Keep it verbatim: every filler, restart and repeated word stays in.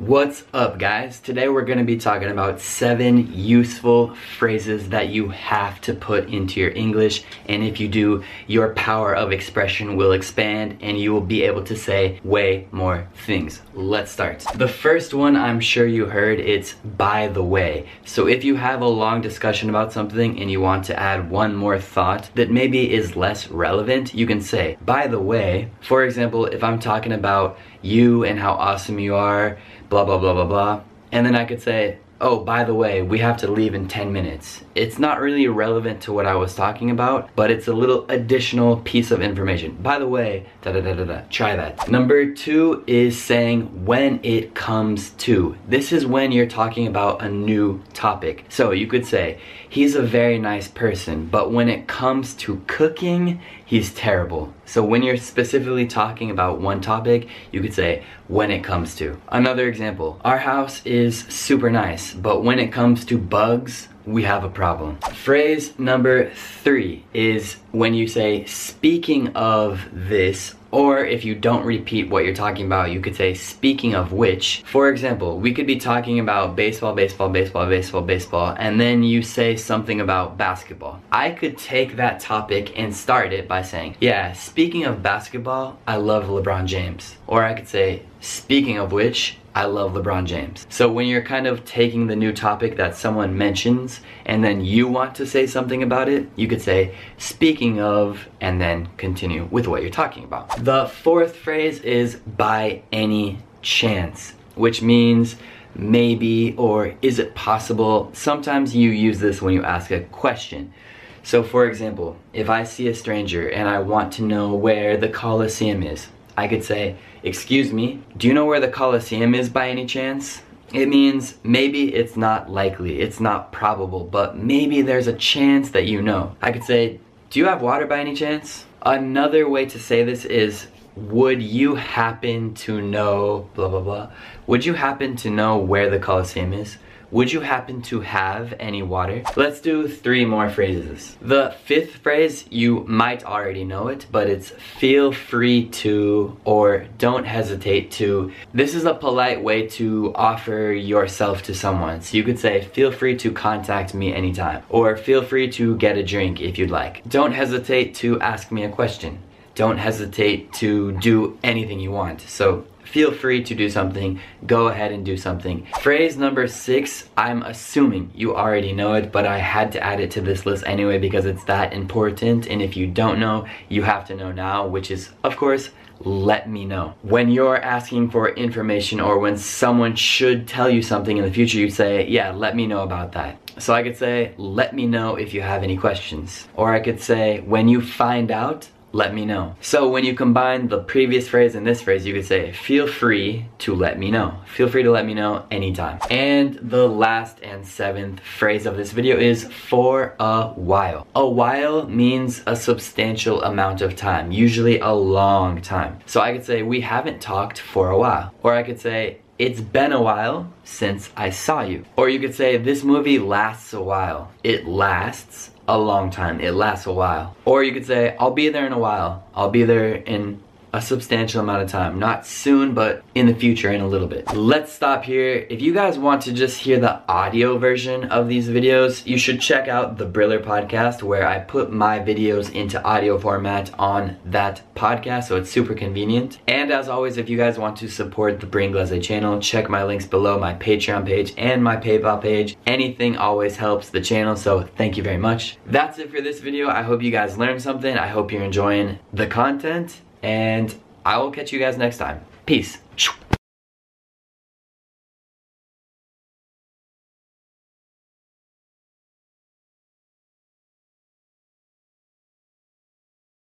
What's up, guys? Today we're going to be talking about seven useful phrases that you have to put into your English, and if you do, your power of expression will expand and you will be able to say way more things. Let's start. The first one, I'm sure you heard, it's by the way. So if you have a long discussion about something and you want to add one more thought that maybe is less relevant, you can say by the way. For example, if I'm talking about you and how awesome you are, blah blah blah blah blah, and then I could say, oh, by the way, we have to leave in ten minutes. It's not really relevant to what I was talking about, but it's a little additional piece of information. By the way, da da da da da. Try that. Number two is saying when it comes to. This is when you're talking about a new topic. So you could say, he's a very nice person, but when it comes to cooking, he's terrible. So when you're specifically talking about one topic, you could say when it comes to. Another example, our house is super nice, but when it comes to bugs, we have a problem. Phrase number three is when you say speaking of this, or if you don't repeat what you're talking about, you could say speaking of which. For example, we could be talking about baseball, baseball, baseball, baseball, baseball, and then you say something about basketball. I could take that topic and start it by saying, yeah, speaking of basketball, I love LeBron James. Or I could say, speaking of which, I love LeBron James. So when you're kind of taking the new topic that someone mentions and then you want to say something about it, you could say, speaking of, and then continue with what you're talking about. The fourth phrase is by any chance, which means maybe or is it possible. Sometimes you use this when you ask a question. So for example, if I see a stranger and I want to know where the Colosseum is, I could say, excuse me, do you know where the Colosseum is by any chance? It means maybe it's not likely, it's not probable, but maybe there's a chance that you know. I could say, do you have water by any chance? Another way to say this is, would you happen to know blah blah blah? Would you happen to know where the Colosseum is? Would you happen to have any water? Let's do three more phrases. The fifth phrase, you might already know it, but it's feel free to or don't hesitate to. This is a polite way to offer yourself to someone. So you could say, feel free to contact me anytime, or feel free to get a drink if you'd like. Don't hesitate to ask me a question. Don't hesitate to do anything you want. So feel free to do something, go ahead and do something. Phrase number six, I'm assuming you already know it, but I had to add it to this list anyway because it's that important, and if you don't know, you have to know now, which is, of course, let me know. When you're asking for information or when someone should tell you something in the future, you say, yeah, let me know about that. So I could say, let me know if you have any questions. Or I could say, when you find out, let me know. So when you combine the previous phrase and this phrase, you could say, feel free to let me know. Feel free to let me know anytime. And the last and seventh phrase of this video is for a while. A while means a substantial amount of time, usually a long time. So I could say, we haven't talked for a while. Or I could say, it's been a while since I saw you. Or you could say, this movie lasts a while. It lasts a long time. It lasts a while. Or you could say, I'll be there in a while. I'll be there in a substantial amount of time. Not soon, but in the future, in a little bit. Let's stop here. If you guys want to just hear the audio version of these videos, you should check out the Briller podcast, where I put my videos into audio format on that podcast, so it's super convenient. And as always, if you guys want to support the Brie Inglese channel, check my links below, my Patreon page and my PayPal page. Anything always helps the channel, so thank you very much. That's it for this video. I hope you guys learned something. I hope you're enjoying the content, and I will catch you guys next time. Peace.